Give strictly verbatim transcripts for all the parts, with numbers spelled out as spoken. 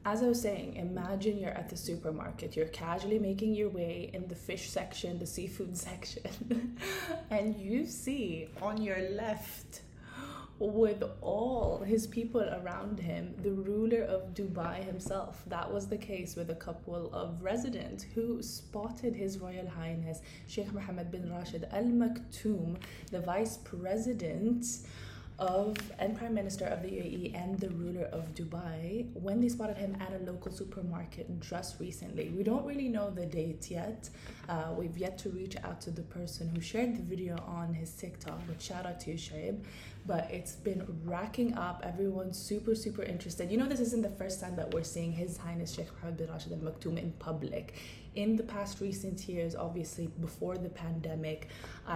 As I was saying, imagine you're at the supermarket, you're casually making your way in the fish section, the seafood section, and you see on your left, with all his people around him, the ruler of Dubai himself. That was the case with a couple of residents who spotted His Royal Highness Sheikh Mohammed bin Rashid Al Maktoum, the vice president of and prime minister of the U A E and the ruler of Dubai, when they spotted him at a local supermarket just recently. We don't really know the date yet. Uh, we've yet to reach out to the person who shared the video on his TikTok, but shout out to you, Shaib. But it's been racking up. Everyone's super, super interested. You know, this isn't the first time that we're seeing His Highness Sheikh Mohammed bin Rashid Al Maktoum in public. In the past recent years, obviously before the pandemic,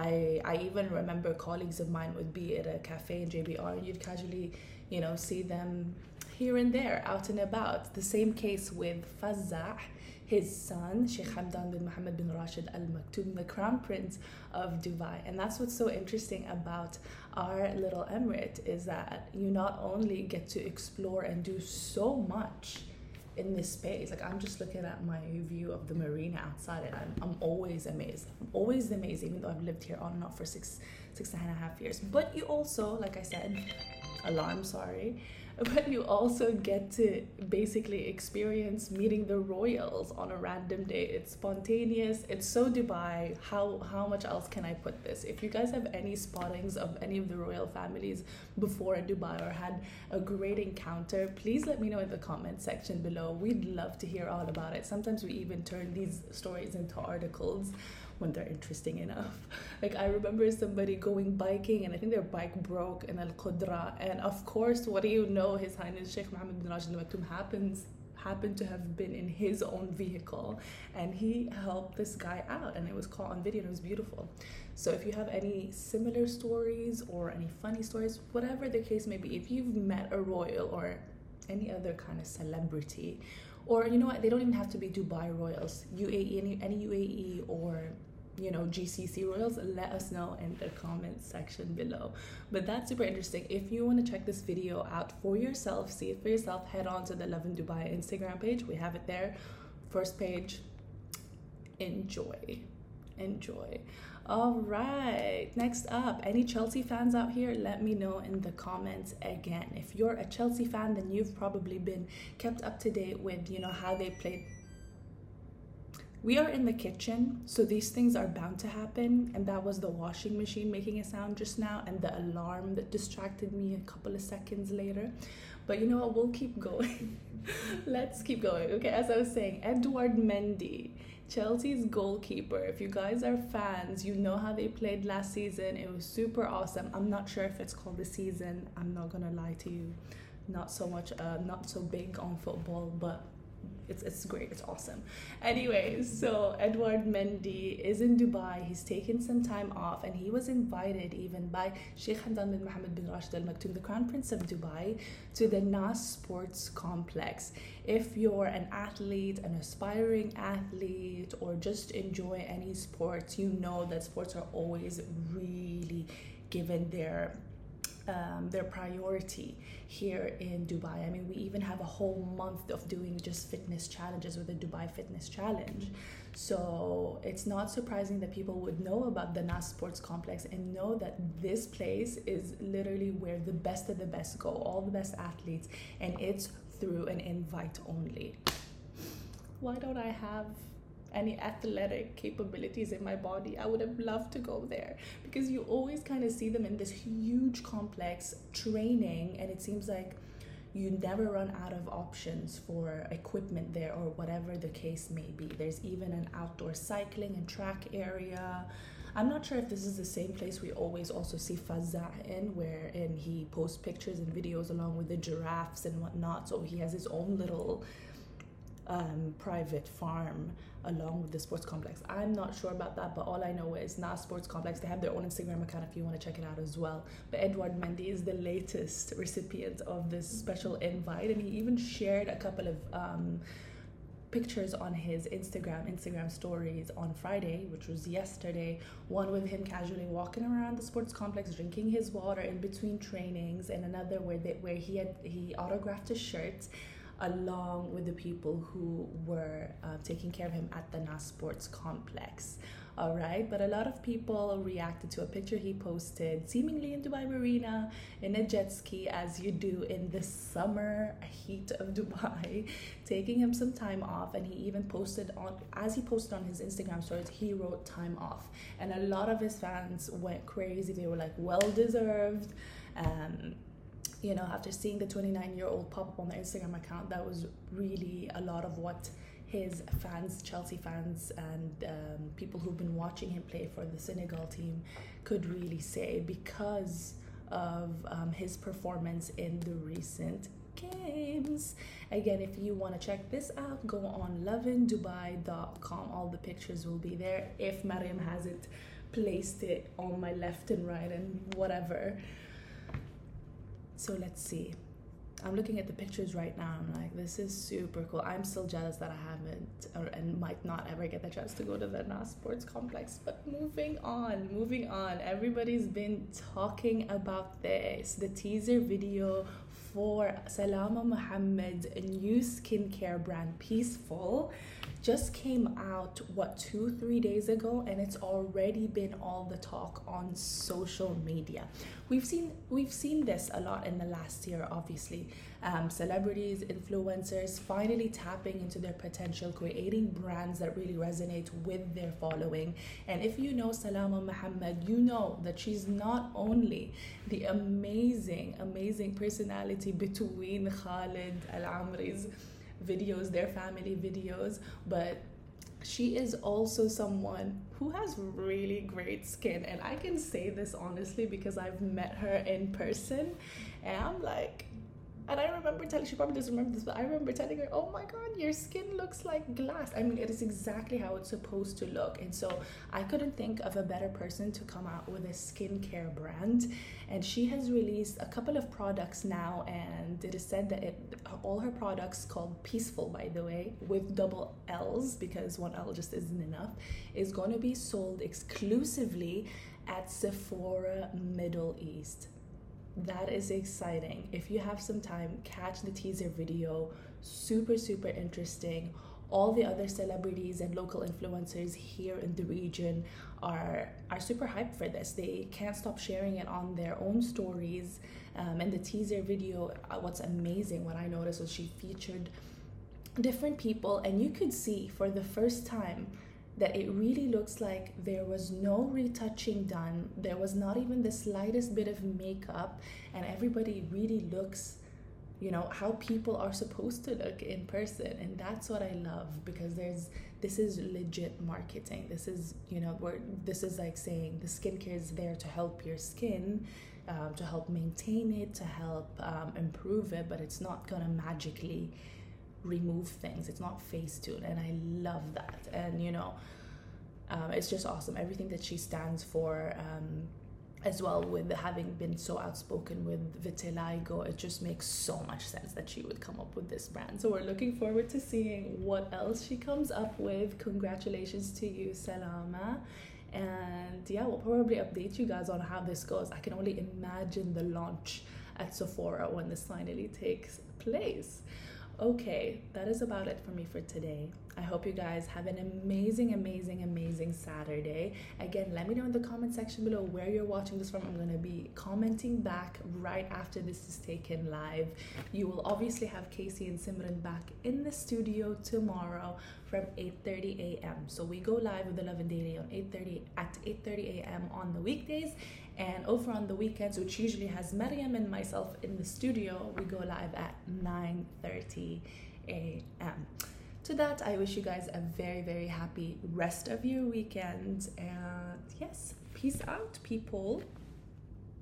I I even remember colleagues of mine would be at a cafe in J B R and you'd casually, you know, see them here and there out and about. The same case with Fazzah, his son, Sheikh Hamdan bin Mohammed bin Rashid Al Maktoum, the crown prince of Dubai. And that's what's so interesting about our little emirate, is that you not only get to explore and do so much in this space. Like, I'm just looking at my view of the marina outside and I'm, I'm always amazed. I'm always amazed, even though I've lived here on and off for six, six and a half years. But you also, like I said, alarm, sorry, but you also get to basically experience meeting the royals on a random day. It's spontaneous. It's so Dubai. How how much else can I put this? If you guys have any spottings of any of the royal families before in Dubai or had a great encounter, please let me know in the comment section below. We'd love to hear all about it. Sometimes we even turn these stories into articles when they're interesting enough. Like, I remember somebody going biking and I think their bike broke in Al Qudra, and of course, what do you know, His Highness Sheikh Mohammed bin Rashid Al Maktoum happens happened to have been in his own vehicle and he helped this guy out and it was caught on video and it was beautiful. So if you have any similar stories or any funny stories, whatever the case may be, if you've met a royal or any other kind of celebrity, or you know what, they don't even have to be Dubai royals, U A E, any, any U A E or, you know, G C C royals, let us know in the comment section below. But that's super interesting. If you want to check this video out for yourself, see it for yourself, head on to the Love in Dubai Instagram page. We have it there, first page. Enjoy, enjoy. All right, next up, any Chelsea fans out here, let me know in the comments again. If you're a Chelsea fan, then you've probably been kept up to date with, you know, how they played. We are in the kitchen, so these things are bound to happen, and that was the washing machine making a sound just now and the alarm that distracted me a couple of seconds later. But you know what, we'll keep going. Let's keep going. Okay, as I was saying, Edouard Mendy, Chelsea's goalkeeper. If you guys are fans, you know how they played last season. It was super awesome. I'm not sure if it's called the season, I'm not gonna lie to you. Not so much, uh, not so big on football, but It's, it's great, it's awesome. Anyways, so Edouard Mendy is in Dubai. He's taken some time off and he was invited even by Sheikh Hamdan bin Mohammed bin Rashid Al Maktoum, the Crown Prince of Dubai, to the Nas Sports Complex. If you're an athlete, an aspiring athlete, or just enjoy any sports, you know that sports are always really given their Um, their priority here in Dubai. I mean, we even have a whole month of doing just fitness challenges with the Dubai Fitness Challenge. So it's not surprising that people would know about the Nas Sports Complex and know that this place is literally where the best of the best go, all the best athletes, and it's through an invite only. Why don't I have any athletic capabilities in my body? I would have loved to go there, because you always kind of see them in this huge complex training, and it seems like you never run out of options for equipment there, or whatever the case may be. There's even an outdoor cycling and track area. I'm not sure if this is the same place we always also see Fazzah in, wherein he posts pictures and videos along with the giraffes and whatnot. So he has his own little Um, private farm along with the sports complex. I'm not sure about that, but all I know is Nas Sports Complex. They have their own Instagram account if you want to check it out as well. But Edouard Mendy is the latest recipient of this special invite, and he even shared a couple of um, pictures on his Instagram Instagram stories on Friday, which was yesterday. One with him casually walking around the sports complex, drinking his water in between trainings, and another where they, where he had he autographed a shirt along with the people who were uh, taking care of him at the Nas Sports Complex. All right, but a lot of people reacted to a picture he posted, seemingly in Dubai Marina, in a jet ski, as you do in the summer heat of Dubai, taking him some time off. And he even posted on, as he posted on his Instagram stories, he wrote time off. And a lot of his fans went crazy. They were like, well deserved. Um, you know, after seeing the twenty-nine year old pop up on the Instagram account, that was really a lot of what his fans, Chelsea fans, and um, people who've been watching him play for the Senegal team could really say, because of um, his performance in the recent games. Again, if you want to check this out, go on lovin dubai dot com. All the pictures will be there, if Mariam hasn't placed it on my left and right and whatever. So let's see. I'm looking at the pictures right now. I'm like, this is super cool. I'm still jealous that I haven't or, and might not ever get the chance to go to the Nas Sports Complex. But moving on, moving on. Everybody's been talking about this. The teaser video for Salama Mohamed's new skincare brand, Peaceful, just came out, what, two, three days ago, and it's already been all the talk on social media. We've seen we've seen this a lot in the last year, obviously. Um, celebrities, influencers finally tapping into their potential, creating brands that really resonate with their following. And if you know Salama Mohamed, you know that she's not only the amazing, amazing personality between Khalid Al-Amri's videos, their family videos, but she is also someone who has really great skin. And I can say this honestly because I've met her in person, and I'm like, and I remember telling, she probably doesn't remember this, but I remember telling her, oh my God, your skin looks like glass. I mean, it is exactly how it's supposed to look. And so I couldn't think of a better person to come out with a skincare brand. And she has released a couple of products now, and it is said that it, all her products, called Peaceful, by the way, with double L's, because one L just isn't enough, is going to be sold exclusively at Sephora Middle East. That is exciting. If you have some time, catch the teaser video. Super, super interesting. All the other celebrities and local influencers here in the region are are super hyped for this. They can't stop sharing it on their own stories. Um, and the teaser video, uh, what's amazing, what I noticed was she featured different people, and you could see for the first time that it really looks like there was no retouching done. There was not even the slightest bit of makeup, and everybody really looks, you know, how people are supposed to look in person. And that's what I love, because there's, this is legit marketing. This is, you know, where this is like saying the skincare is there to help your skin, um, to help maintain it, to help um, improve it, but it's not gonna magically remove things. It's not Facetune, and I love that. And you know, um, it's just awesome, everything that she stands for, um, as well, with having been so outspoken with vitiligo. It just makes so much sense that she would come up with this brand. So we're looking forward to seeing what else she comes up with. Congratulations to you, Salama. And yeah, we'll probably update you guys on how this goes. I can only imagine the launch at Sephora when this finally takes place. Okay, that is about it for me for today. I hope you guys have an amazing, amazing, amazing Saturday. Again, let me know in the comment section below where you're watching this from. I'm going to be commenting back right after this is taken live. You will obviously have Casey and Simran back in the studio tomorrow from eight thirty a m So we go live with the Lovin Daily on eight thirty at eight thirty a m on the weekdays, and over on the weekends, which usually has Mariam and myself in the studio, we go live at nine thirty a m To that, I wish you guys a very, very happy rest of your weekend, and yes, peace out, people.